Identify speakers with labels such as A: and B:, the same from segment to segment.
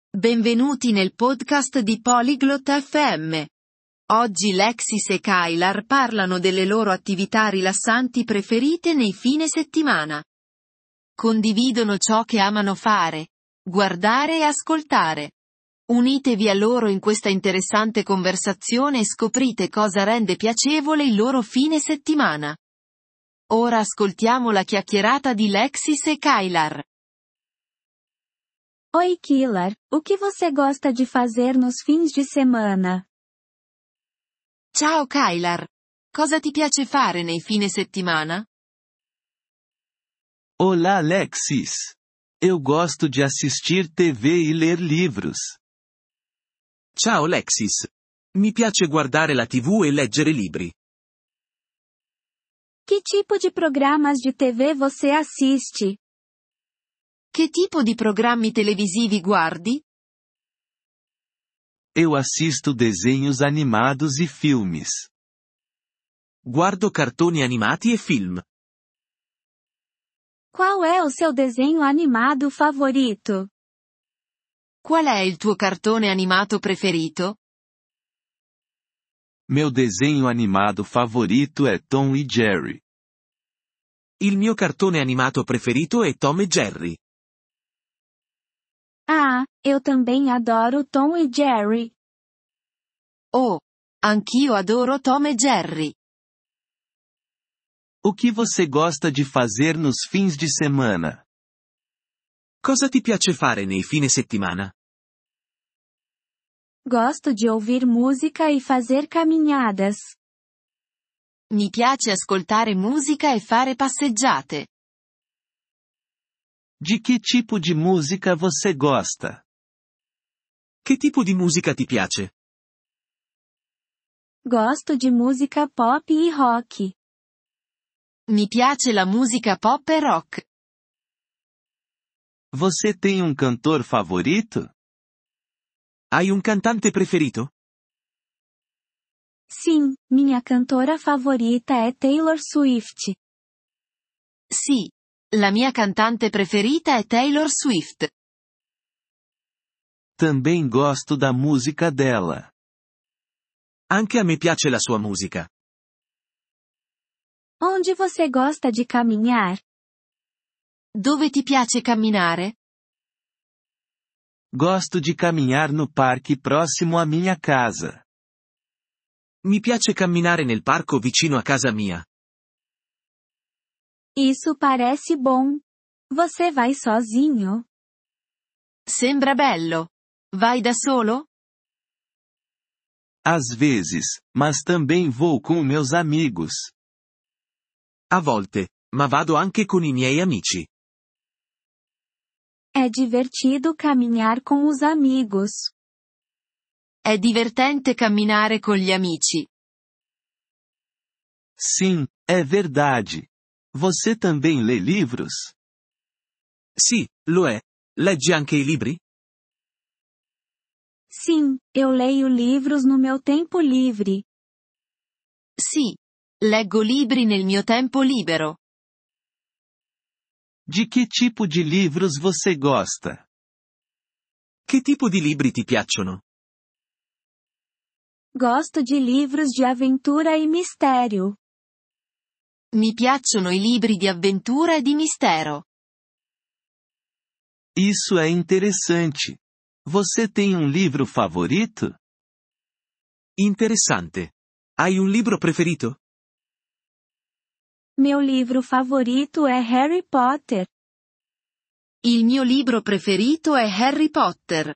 A: Benvenuti nel podcast di Polyglot FM. Oggi Lexis e Kylar parlano delle loro attività rilassanti preferite nei fine settimana. Condividono ciò che amano fare, guardare e ascoltare. Unitevi a loro in questa interessante conversazione e scoprite cosa rende piacevole il loro fine settimana. Ora ascoltiamo la chiacchierata di Lexis e Kylar.
B: Oi Kylar, o que você gosta de fazer nos fins de semana?
A: Ciao Kylar. Cosa ti piace fare nei fine settimana?
C: Olá Alexis. Eu gosto de assistir TV e ler livros.
D: Ciao Lexis. Mi piace guardare la TV e leggere libri.
B: Que tipo de programas de TV você assiste?
A: Che tipo di programmi televisivi guardi?
C: Eu assisto desenhos animados e filmes.
D: Guardo cartoni animati e film.
B: Qual é o seu desenho animado favorito?
A: Qual è il tuo cartone animato preferito?
C: Meu desenho animado favorito é Tom e Jerry.
D: Il mio cartone animato preferito è Tom e Jerry.
B: Ah, eu também adoro Tom e Jerry.
A: Oh, anch'io adoro Tom e Jerry.
C: O que você gosta de fazer nos fins de semana?
D: Cosa ti piace fare nei fine settimana?
B: Gosto de ouvir música e fazer caminhadas.
A: Mi piace ascoltare musica e fare passeggiate.
C: De que tipo de música você gosta?
D: Che tipo di musica ti piace?
B: Gosto de música pop e rock.
A: Mi piace la musica pop e rock.
C: Você tem um cantor favorito?
D: Hai un cantante preferito?
B: Sim, minha cantora favorita é Taylor Swift.
A: Sì, la mia cantante preferita è Taylor Swift.
C: Também gosto da música dela.
D: Anche a me piace la sua musica.
B: Onde você gosta de caminhar?
A: Dove ti piace camminare?
C: Gosto de caminhar no parque próximo à minha casa.
D: Mi piace camminare nel parco vicino a casa mia.
B: Isso parece bom. Você vai sozinho?
A: Sembra bello. Vai da solo?
C: Às vezes, mas também vou com meus amigos.
D: A volte, ma vado anche con i miei amici.
B: É divertido caminhar com os amigos.
A: È divertente camminare con gli amici.
C: Sim, é verdade. Você também lê livros?
D: Sì, lo è. Leggi anche i libri?
B: Sim, eu leio livros no meu tempo livre.
A: Sì. Leggo libri nel mio tempo libero.
C: De que tipo de livros você gosta?
D: Che tipo di libri ti piacciono?
B: Gosto de livros de aventura e mistério.
A: Mi piacciono i libri di avventura e di mistero.
C: Isso é interessante. Você tem um livro favorito?
D: Interessante. Hai un libro preferito?
B: Meu livro favorito é Harry Potter.
A: Il mio libro preferito è Harry Potter.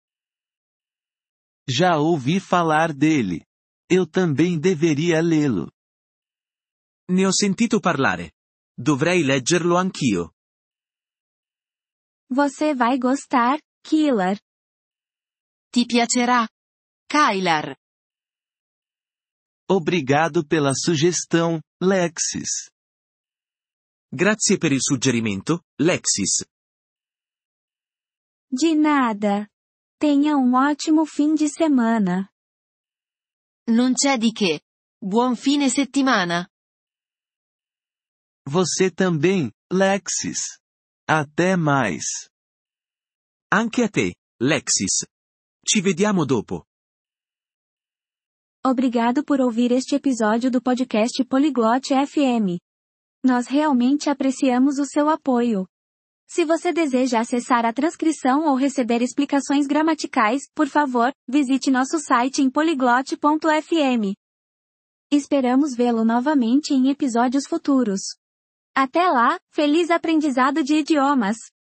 C: Já ouvi falar dele. Eu também deveria lê-lo.
D: Ne ho sentito parlare. Dovrei leggerlo anch'io.
B: Você vai gostar, Kylar.
A: Ti piacerà? Kylar.
C: Obrigado pela sugestão, Lexis.
D: Grazie per il suggerimento, Lexis.
B: De nada. Tenha um ótimo fim de semana.
A: Non c'è di che. Buon fine settimana.
C: Você também, Lexis. Até mais.
D: Anche a te, Lexis. Ci vediamo dopo.
B: Obrigado por ouvir este episódio do podcast Poliglote FM. Nós realmente apreciamos o seu apoio. Se você deseja acessar a transcrição ou receber explicações gramaticais, por favor, visite nosso site em poliglote.fm. Esperamos vê-lo novamente em episódios futuros. Até lá, feliz aprendizado de idiomas!